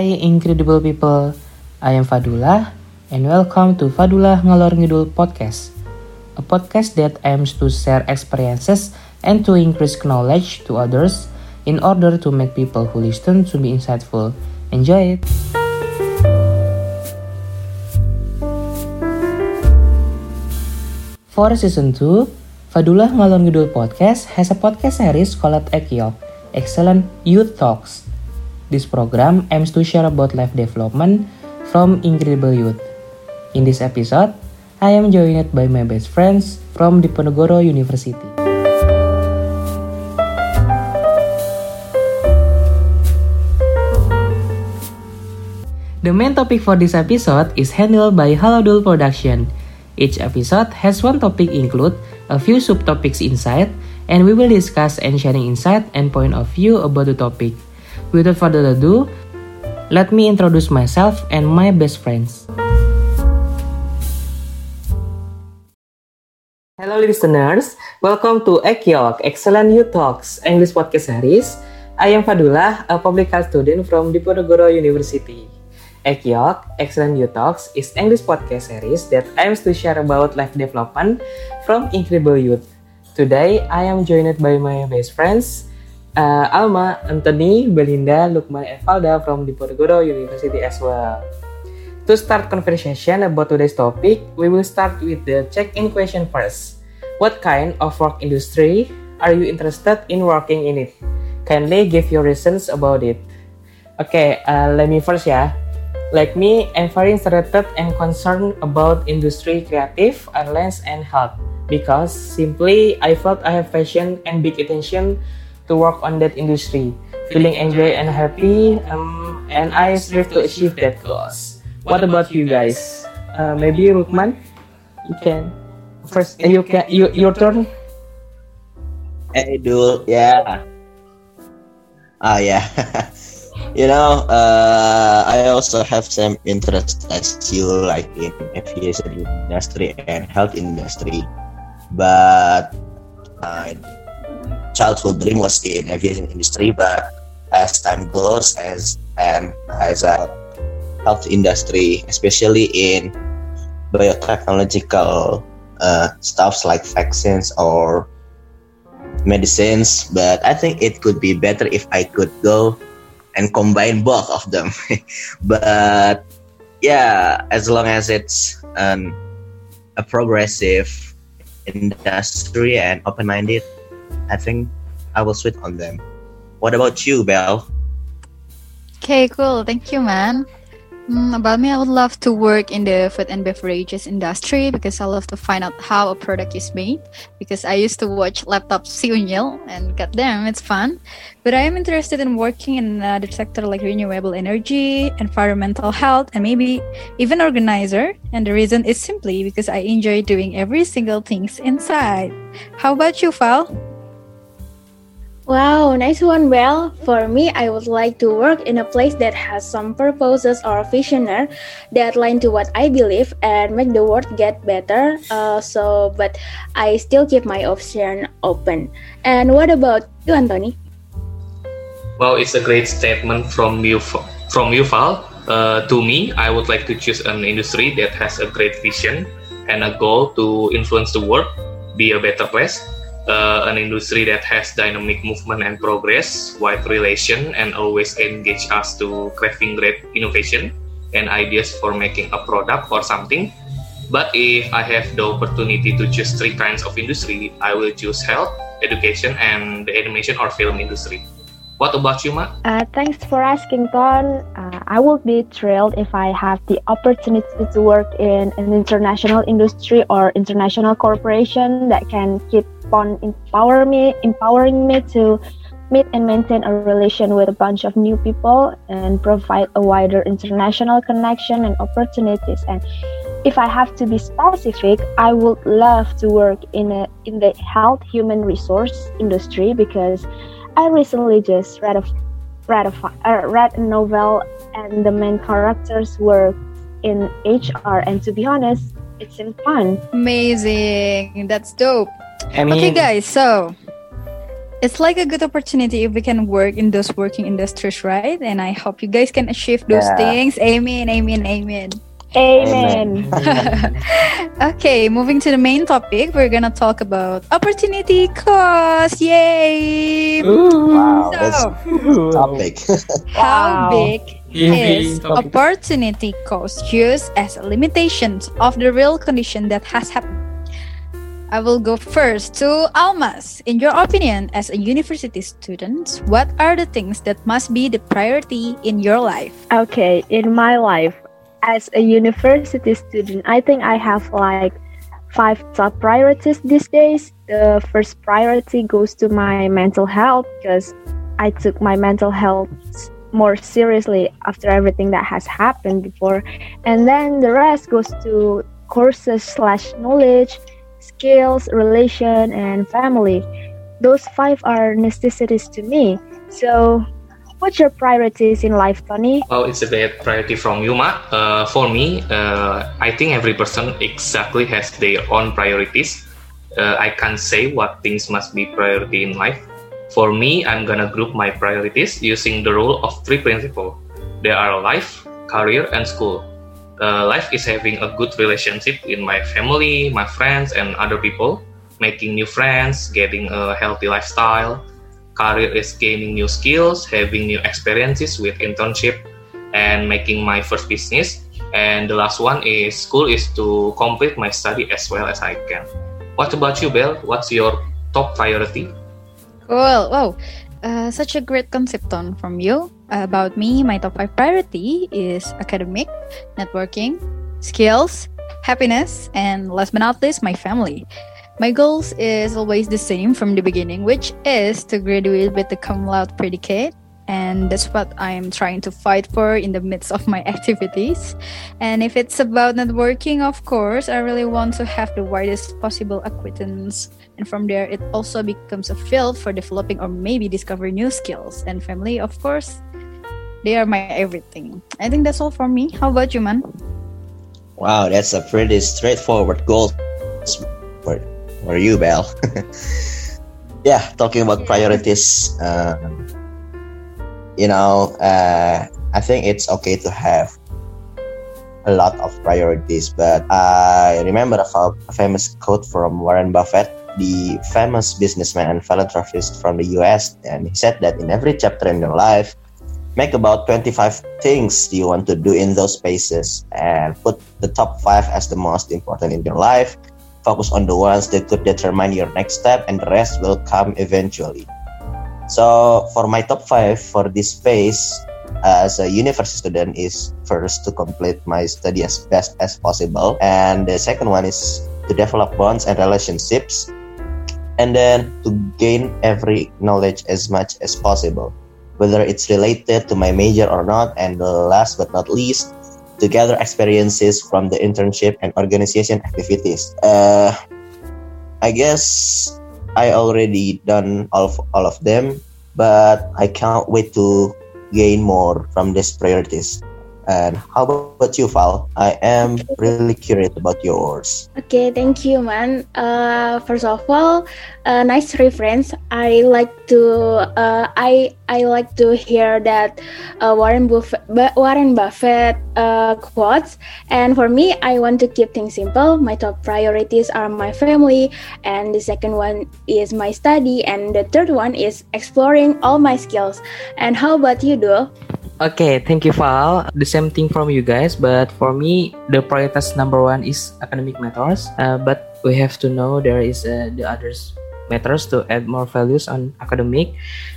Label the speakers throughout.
Speaker 1: Hai incredible people, I am Fadullah and welcome to Fadullah Ngalor Ngidul Podcast. A podcast that aims to share experiences and to increase knowledge to others in order to make people who listen to be insightful. Enjoy it! For season 2, Fadullah Ngalor Ngidul Podcast has a podcast series called EKYOK, Excellent Youth Talks. This program aims to share about life development from incredible youth. In this episode, I am joined by my best friends from Diponegoro University. The main topic for this episode is handled by Halodul Production. Each episode has one topic include a few subtopics inside, and we will discuss and sharing insight and point of view about the topic. Without further ado, let me introduce myself and my best friends. Hello listeners, welcome to EKYOK, Excellent Youth Talks, English Podcast Series. I am Fadullah, a public health student from Diponegoro University. EKYOK, Excellent Youth Talks is English podcast series that aims to share about life development from incredible youth. Today, I am joined by my best friends, Alma, Anthony, Belinda, Lukman, and Valda from Diponegoro University as well. To start conversation about today's topic, we will start with the check-in question first. What kind of work industry are you interested in working in it? Kindly give your reasons about it. Okay, let me first ya. Like me, I'm very interested and concerned about industry creative, airlines, and health because simply I felt I have passion and big attention to work on that industry, feeling enjoy and happy, and I strive to achieve that goals. What about you guys? Maybe Lukman, you can first. Your turn.
Speaker 2: Hey, Dul, yeah. Yeah. I also have some interest as you like in aviation industry and health industry, but childhood dream was in aviation industry, but as time goes as a health industry, especially in biotechnological stuffs like vaccines or medicines. But I think it could be better if I could go and combine both of them. But yeah, as long as it's a progressive industry and open-minded, I think I will switch on them. What about you, Belle?
Speaker 3: Okay, cool. Thank you, man. About me, I would love to work in the food and beverages industry because I love to find out how a product is made. Because I used to watch Laptop Si Unyil and goddamn, it's fun. But I am interested in working in another sector like renewable energy, environmental health, and maybe even organizer. And the reason is simply because I enjoy doing every single things inside. How about you, Val?
Speaker 4: Wow, nice one, Belle. For me, I would like to work in a place that has some purposes or visioner that align to what I believe and make the world get better. But I still keep my option open. And what about you, Anthony?
Speaker 5: Well, it's a great statement from you, Val. To me, I would like to choose an industry that has a great vision and a goal to influence the world, be a better place. An industry that has dynamic movement and progress, wide relation, and always engage us to crafting great innovation and ideas for making a product or something. But if I have the opportunity to choose three kinds of industry, I will choose health, education, and the animation or film industry. What about you, Ma?
Speaker 6: Thanks for asking, Ton. I would be thrilled if I have the opportunity to work in an international industry or international corporation that can keep on empowering me to meet and maintain a relation with a bunch of new people and provide a wider international connection and opportunities. And if I have to be specific, I would love to work in the health human resource industry because I recently just read a novel and the main characters work in HR, and to be honest, it seemed fun.
Speaker 3: Amazing. That's dope.
Speaker 1: I mean,
Speaker 3: Okay, guys, so It's like a good opportunity if we can work in those working industries, right? And I hope you guys can achieve those things. Amen, amen, amen.
Speaker 6: Amen.
Speaker 3: Okay, moving to the main topic, we're gonna talk about opportunity cost. Yay!
Speaker 2: Wow, that's
Speaker 3: So,
Speaker 2: topic.
Speaker 3: how
Speaker 6: Wow.
Speaker 3: big
Speaker 1: Easy
Speaker 3: is
Speaker 1: topic.
Speaker 3: opportunity cost used as a limitation of the real condition that has happened? I will go first to Almas. In your opinion, as a university student, what are the things that must be the priority in your life?
Speaker 6: Okay, in my life, as a university student, I think I have like 5 top priorities these days. The first priority goes to my mental health because I took my mental health more seriously after everything that has happened before. And then the rest goes to courses/knowledge, skills, relation, and family. Those 5 are necessities to me. So, what's your priorities in life, Tony?
Speaker 5: Well, it's a great priority from you, Ma. For me, I think every person exactly has their own priorities. I can't say what things must be priority in life. For me, I'm gonna group my priorities using the rule of 3 principles. There are life, career, and school. Life is having a good relationship in my family, my friends, and other people, making new friends, getting a healthy lifestyle. Career is gaining new skills, having new experiences with internship, and making my first business. And the last one is school is to complete my study as well as I can. What about you, Belle? What's your top priority?
Speaker 3: Cool. Wow. Such a great concept tone from you. About me, my top 5 priority is academic, networking, skills, happiness, and last but not least, my family. My goals is always the same from the beginning, which is to graduate with the cum laude predicate. And that's what I'm trying to fight for in the midst of my activities. And if it's about networking, of course, I really want to have the widest possible acquaintance. And from there, it also becomes a field for developing or maybe discovering new skills. And family, of course, they are my everything. I think that's all for me. How about you, man?
Speaker 2: Wow, that's a pretty straightforward goal for you, Belle. Yeah, talking about priorities, I think it's okay to have a lot of priorities, but I remember a famous quote from Warren Buffett, the famous businessman and philanthropist from the US, and he said that in every chapter in your life, make about 25 things you want to do in those spaces and put the top 5 as the most important in your life. Focus on the ones that could determine your next step, and the rest will come eventually. So for my top 5 for this phase as a university student is first to complete my study as best as possible, and the second one is to develop bonds and relationships, and then to gain every knowledge as much as possible, whether it's related to my major or not, and last but not least, to gather experiences from the internship and organization activities. I guess I already done all of them, but I can't wait to gain more from these priorities. And how about you, Val? I am really curious about yours.
Speaker 4: Okay, thank you, man. First of all, nice reference. I like to hear that Warren Buffett quotes. And for me, I want to keep things simple. My top priorities are my family, and the second one is my study, and the third one is exploring all my skills. And how about you, Dul?
Speaker 1: Okay, thank you, Val. The same thing from you guys, but for me, the prioritas number 1 is academic matters. But we have to know there is the others matters to add more values on academic.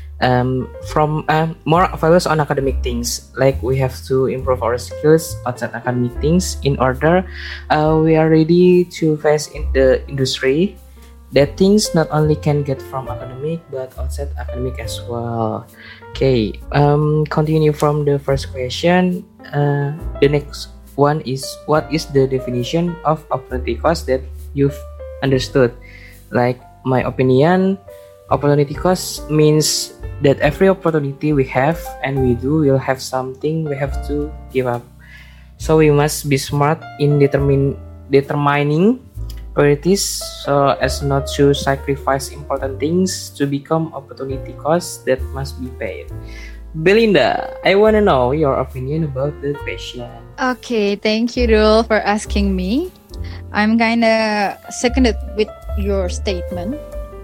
Speaker 1: More values on academic things, like we have to improve our skills outside academic things in order we are ready to face in the industry. That things not only can get from academic but outside academic as well. Okay, continue from the first question. The next one is, what is the definition of opportunity cost that you've understood? Like my opinion, opportunity cost means that every opportunity we have and we do will have something we have to give up. So we must be smart in determining priorities as not to sacrifice important things to become opportunity costs that must be paid. Belinda, I want to know your opinion about the question.
Speaker 3: Okay, thank you, Dul, for asking me. I'm kinda seconded with your statement.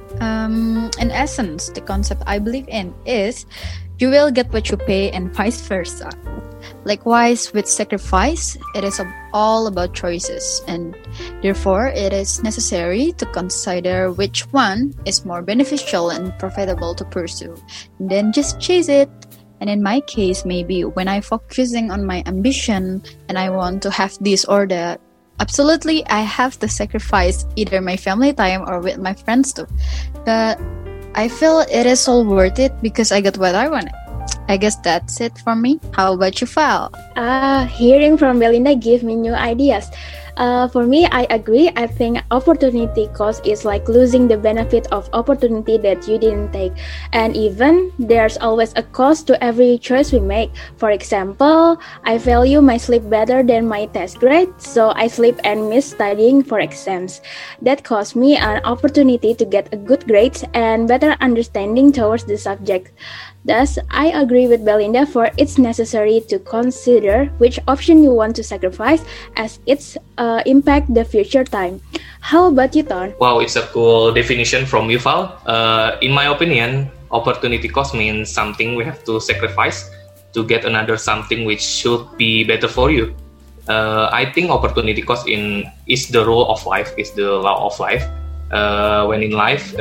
Speaker 3: In essence, the concept I believe in is you will get what you pay and vice versa. Likewise, with sacrifice, it is all about choices, and therefore it is necessary to consider which one is more beneficial and profitable to pursue, and then just chase it. And in my case, maybe when I'm focusing on my ambition and I want to have this or that, absolutely I have to sacrifice either my family time or with my friends too. But I feel it is all worth it because I got what I wanted. I guess that's it for me. How about you, Val?
Speaker 4: Hearing from Belinda gave me new ideas. For me, I agree. I think opportunity cost is like losing the benefit of opportunity that you didn't take. And even there's always a cost to every choice we make. For example, I value my sleep better than my test grade, so I sleep and miss studying for exams. That cost me an opportunity to get a good grades and better understanding towards the subject. Thus, I agree with Belinda for it's necessary to consider which option you want to sacrifice as it's impact the future time. How about you, Ton?
Speaker 5: Wow, it's a cool definition from Yuval. In my opinion, opportunity cost means something we have to sacrifice to get another something which should be better for you. I think opportunity cost is the rule of life, is the law of life. When in life,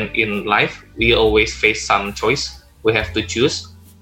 Speaker 5: we always face some choice. We have to choose.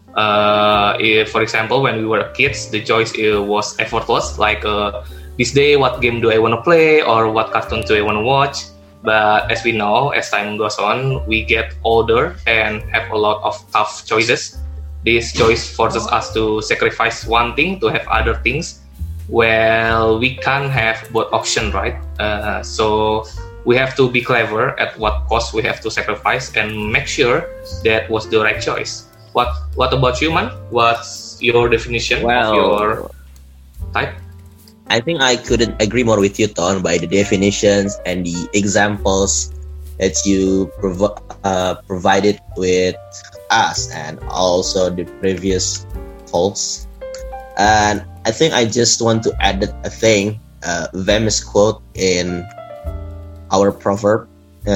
Speaker 5: If, for example, when we were kids, the choice was effortless. Like this day, what game do I want to play, or what cartoon do I want to watch? But as we know, as time goes on, we get older and have a lot of tough choices. This choice forces us to sacrifice one thing to have other things. Well, we can't have both options, right? So we have to be clever at what cost we have to sacrifice and make sure that was the right choice. What about you, man? What's your definition of your type?
Speaker 2: I think I couldn't agree more with you, Ton, by the definitions and the examples that you provided with us and also the previous folks. And I think I just want to add a thing, famous quote in our proverb.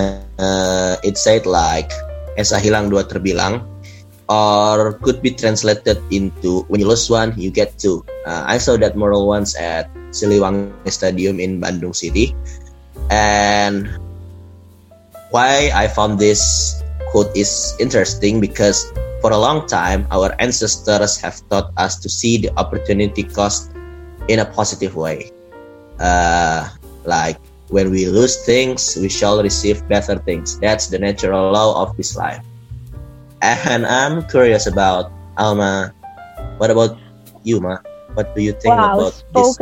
Speaker 2: It said like, esa hilang dua terbilang, or could be translated into when you lose one, you get two. I saw that mural once at Siliwangi Stadium in Bandung City. And why I found this quote is interesting because for a long time, our ancestors have taught us to see the opportunity cost in a positive way. Like, when we lose things, we shall receive better things. That's the natural law of this life. And I'm curious about Alma. What about you, Ma? What do you think about this?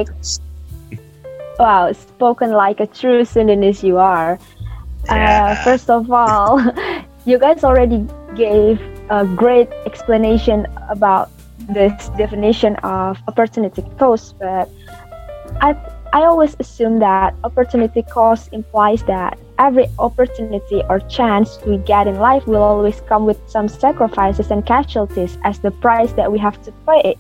Speaker 6: Spoken like a true Sundanese you are.
Speaker 2: Yeah.
Speaker 6: First of all, you guys already gave a great explanation about this definition of opportunity cost, but I always assume that opportunity cost implies that every opportunity or chance we get in life will always come with some sacrifices and casualties as the price that we have to pay.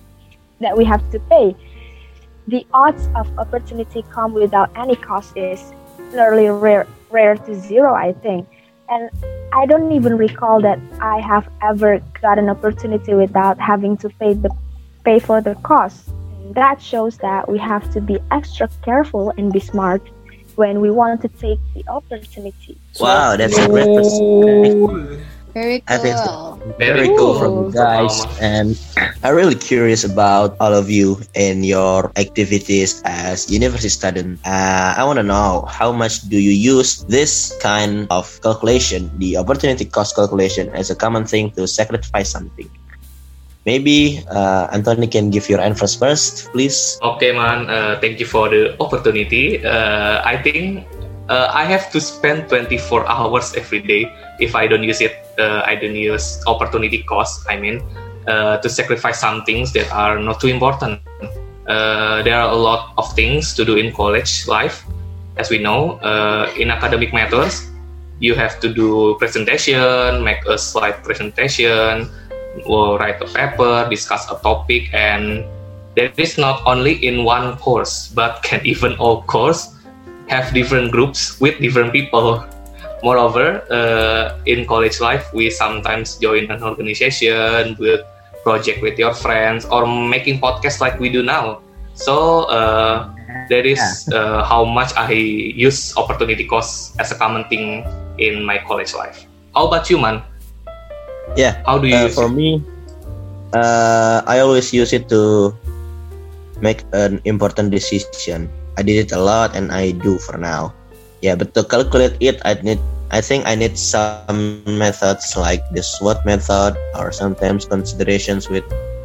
Speaker 6: The odds of opportunity come without any cost is nearly rare to zero, I think. And I don't even recall that I have ever got an opportunity without having to pay for the cost. That shows that we have to be extra careful and be smart when we want to take the opportunity.
Speaker 2: Wow, that's a great perspective.
Speaker 3: Very
Speaker 2: I think
Speaker 3: cool.
Speaker 2: very cool from you guys, and I'm really curious about all of you and your activities as university student. I want to know how much do you use this kind of calculation, the opportunity cost calculation, as a common thing to sacrifice something. Maybe Anthony can give your answers first, please.
Speaker 5: Okay, man. Thank you for the opportunity. I think I have to spend 24 hours every day. If I don't use it, I don't use opportunity cost. To sacrifice some things that are not too important. There are a lot of things to do in college life, as we know, in academic matters, you have to do presentation, make a slide presentation, or write a paper, discuss a topic, and that is not only in one course, but can even all course have different groups with different people. Moreover, in college life, we sometimes join an organization, with project with your friends, or making podcasts like we do now. So that is how much I use opportunity cost as a common thing in my college life. How about you, man?
Speaker 2: Yeah.
Speaker 5: How do you use
Speaker 2: for
Speaker 5: it?
Speaker 2: me, I always use it to make an important decision. I did it a lot, and I do for now. Yeah, but to calculate it, I think I need some methods like the SWOT method, or sometimes considerations with,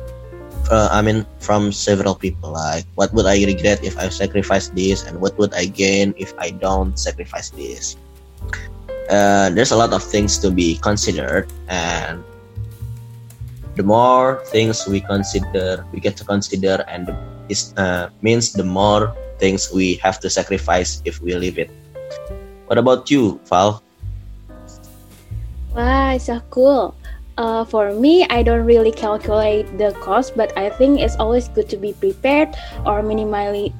Speaker 2: from several people. Like, what would I regret if I sacrifice this, and what would I gain if I don't sacrifice this? There's a lot of things to be considered, and the more things we get to consider, and it means the more things we have to sacrifice if we leave it. What about you, Val?
Speaker 4: Wow, so cool. For me, I don't really calculate the cost, but I think it's always good to be prepared or minimizing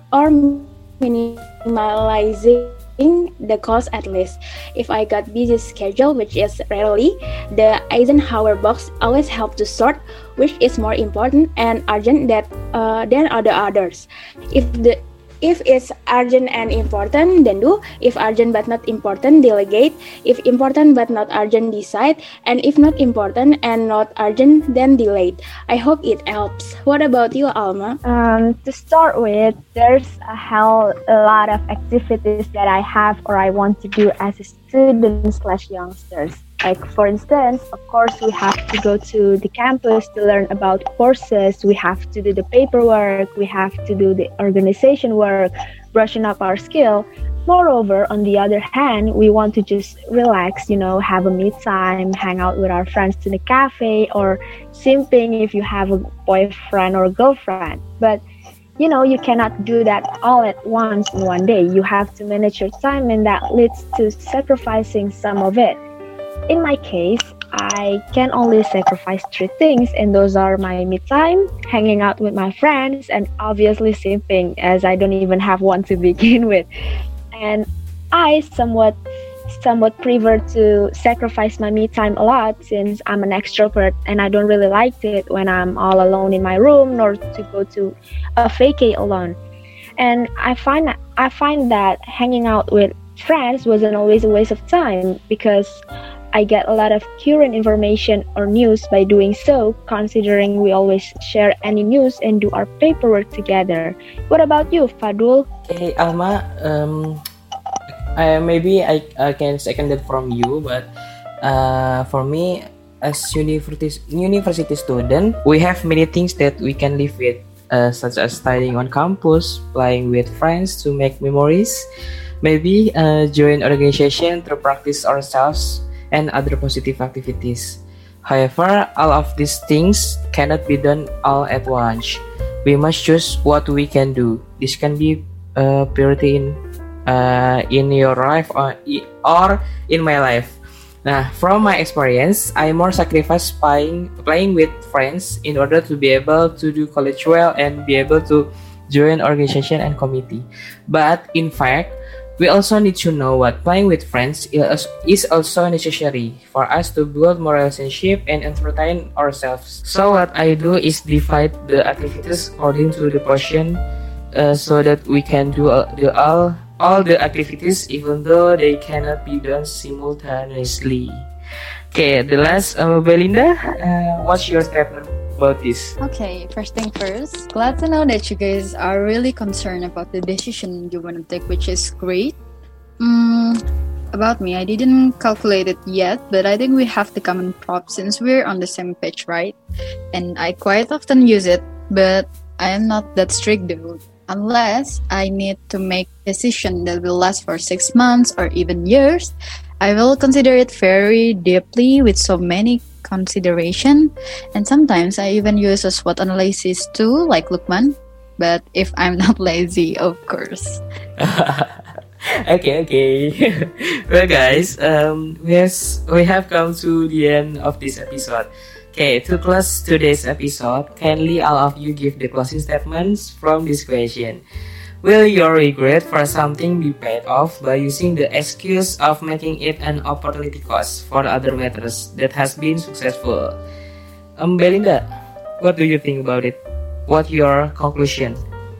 Speaker 4: the cost at least. If I got busy schedule, which is rarely, the Eisenhower box always help to sort which is more important and urgent than others. If it's urgent and important, then do. If urgent but not important, delegate. If important but not urgent, decide. And if not important and not urgent, then delete. I hope it helps. What about you, Alma?
Speaker 6: To start with, there's a lot of activities that I have or I want to do as a student/youngsters. Like, for instance, of course, we have to go to the campus to learn about courses. We have to do the paperwork. We have to do the organization work, brushing up our skill. Moreover, on the other hand, we want to just relax, have a me time, hang out with our friends in a cafe, or simping if you have a boyfriend or a girlfriend. But you cannot do that all at once in one day. You have to manage your time, and that leads to sacrificing some of it. In my case, I can only sacrifice 3 things, and those are my me time, hanging out with my friends, and obviously simping, as I don't even have one to begin with. And I somewhat prefer to sacrifice my me time a lot, since I'm an extrovert and I don't really like it when I'm all alone in my room, nor to go to a vacay alone. And I find that hanging out with friends wasn't always a waste of time, because I get a lot of current information or news by doing so, considering we always share any news and do our paperwork together. What about you, Fadul?
Speaker 1: Okay, Alma, maybe I can second that from you, but for me, as university student, we have many things that we can live with, such as studying on campus, playing with friends to make memories, maybe join organization to practice ourselves, and other positive activities. However, all of these things cannot be done all at once. We must choose what we can do. This can be a priority in your life or in my life. Now, from my experience, I more sacrifice playing with friends in order to be able to do college well and be able to join organization and committee. But in fact, we also need to know what playing with friends is also necessary for us to build more relationship and entertain ourselves. So what I do is divide the activities according to the portion, so that we can do all the activities even though they cannot be done simultaneously. Okay, the last, Belinda, what's your statement about this?
Speaker 3: Okay, first thing first, glad to know that you guys are really concerned about the decision you want to take, which is great. About me, I didn't calculate it yet, but I think we have the common prop since we're on the same page, right? And I quite often use it, but I am not that strict though. Unless I need to make a decision that will last for 6 months or even years, I will consider it very deeply with so many consideration, and sometimes I even use a SWOT analysis too, like Lukman, but if I'm not lazy, of course.
Speaker 1: Okay. Well, guys, we have come to the end of this episode. Okay, to close today's episode, kindly all of you give the closing statements from this question. Will your regret for something be paid off by using the excuse of making it an opportunity cost for other matters that has been successful? Belinda, what do you think about it? What's your conclusion?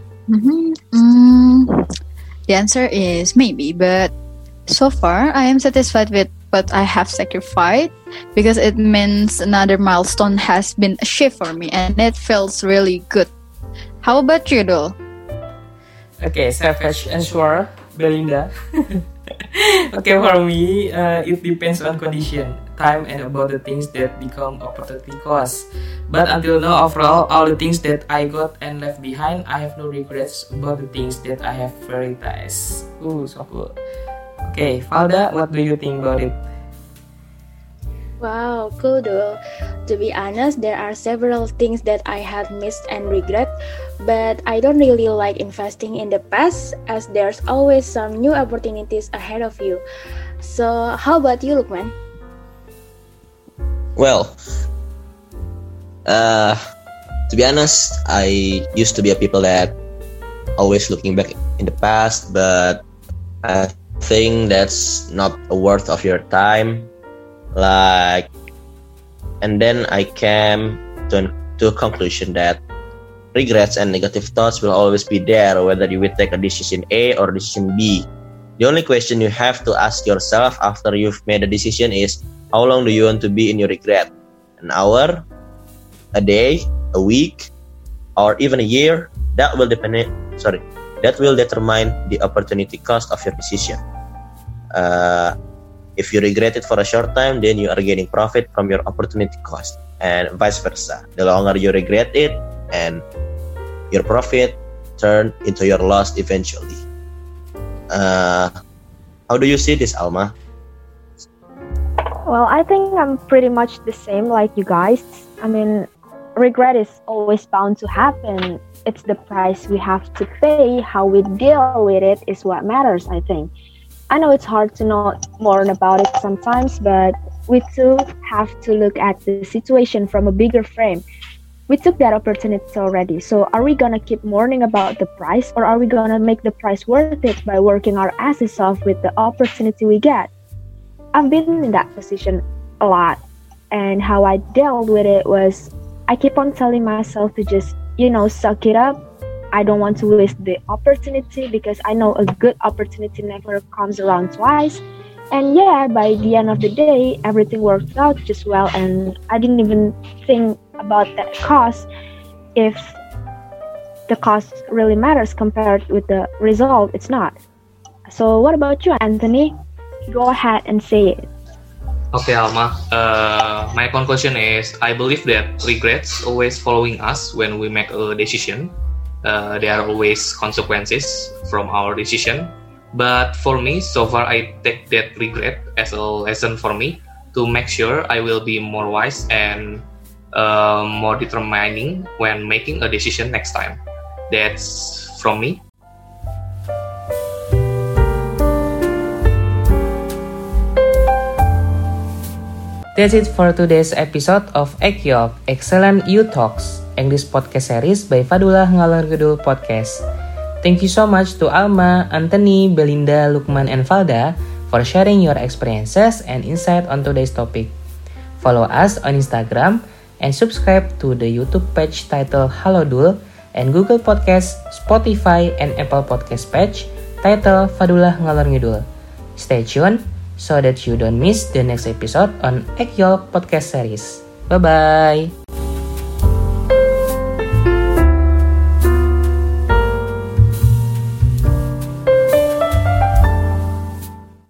Speaker 3: The answer is maybe, but so far I am satisfied with what I have sacrificed because it means another milestone has been achieved for me and it feels really good. How about you, Dul?
Speaker 1: Okay, savage answer, Belinda. Okay, for me, it depends on condition, time, and about the things that become opportunity cost. But until now, overall, all the things that I got and left behind, I have no regrets about the things that I have prioritized. Ooh, so cool. Okay, Falda, what do you think about it?
Speaker 4: Wow, cool, Dul. To be honest, there are several things that I have missed and regret, but I don't really like investing in the past as there's always some new opportunities ahead of you. So, how about you, Lukman?
Speaker 2: Well, to be honest, I used to be a people that always looking back in the past, but I think that's not a worth of your time. And then I came to a conclusion that regrets and negative thoughts will always be there, whether you will take a decision A or decision B. The only question you have to ask yourself after you've made a decision is, how long do you want to be in your regret? An hour, a day, a week, or even a year? That will determine the opportunity cost of your decision. If you regret it for a short time, then you are getting profit from your opportunity cost, and vice versa. The longer you regret it, and your profit turn into your loss eventually. How do you see this, Alma?
Speaker 6: Well, I think I'm pretty much the same like you guys. I mean, regret is always bound to happen. It's the price we have to pay. How we deal with it is what matters, I think. I know it's hard to know more about it sometimes, but we too have to look at the situation from a bigger frame. We took that opportunity already, so are we gonna keep mourning about the price, or are we gonna make the price worth it by working our asses off with the opportunity we get? I've been in that position a lot, and how I dealt with it was I keep on telling myself to just, suck it up. I don't want to waste the opportunity because I know a good opportunity never comes around twice. And yeah, by the end of the day, everything worked out just well, and I didn't even think about that cost if the cost really matters compared with the result. It's not. So what about you, Anthony? Go ahead and say it.
Speaker 5: Okay, Alma. My conclusion is I believe that regrets always following us when we make a decision. There are always consequences from our decision. But for me, so far I take that regret as a lesson for me to make sure I will be more wise and more determining when making a decision next time. That's from me.
Speaker 1: That's it for today's episode of Ekyok, Excellent You Talks, English podcast series by Fadullah Ngalor Ngidul Podcast. Thank you so much to Alma, Anthony, Belinda, Lukman, and Falda for sharing your experiences and insight on today's topic. Follow us on Instagram and subscribe to the YouTube page titled Halo Dul and Google Podcast, Spotify, and Apple Podcast page titled Fadullah Ngalor Ngidul. Stay tuned so that you don't miss the next episode on Ekyok Podcast series. Bye-bye!